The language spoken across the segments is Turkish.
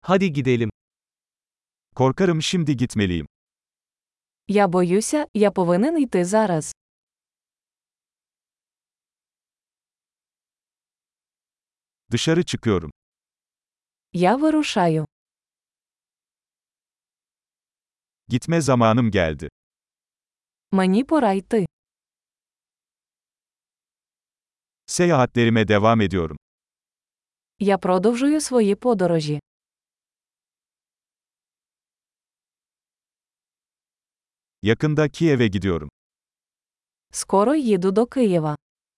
Hadi gidelim. Korkarım şimdi gitmeliyim. Я боюся, я повинен йти зараз. Dışarı çıkıyorum. Я вирушаю. Gitme zamanım geldi. Мені пора йти. Seyahatlerime devam ediyorum. Я продовжую свої подорожі. Yakında Kiev'e gidiyorum. Скоро їду до Києва.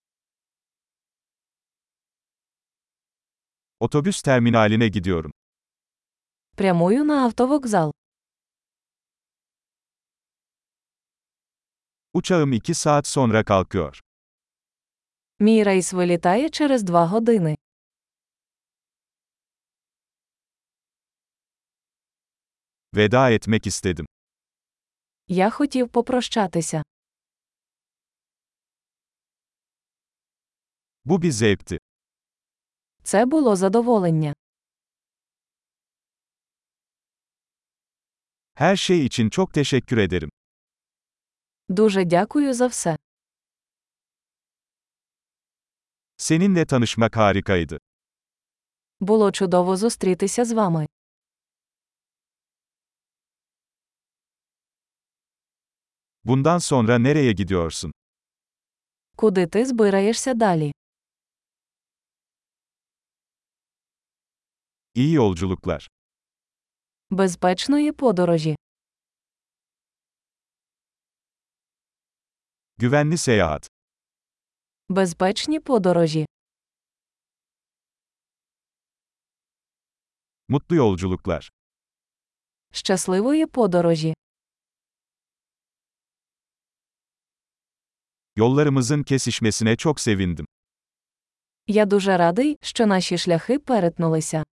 Otobüs terminaline gidiyorum. Прямую на автовокзал. Uçağım 2 saat sonra kalkıyor. Мій рейс вилітає через 2 години. Veda etmek istedim. Я хотів попрощатися. Bu bir zevkti. Це було задоволення. Her şey için çok teşekkür ederim. Дуже дякую за все. Seninle tanışmak harikaydı. Було чудово зустрітися з вами. Bundan sonra nereye gidiyorsun? Куди ти збираєшся далі? İyi yolculuklar. Безпечної подорожі. Güvenli seyahat. Безпечні подорожі. Mutlu yolculuklar. Щасливої подорожі. Yollarımızın kesişmesine çok sevindim. Я дуже радий, що наші шляхи перетнулися.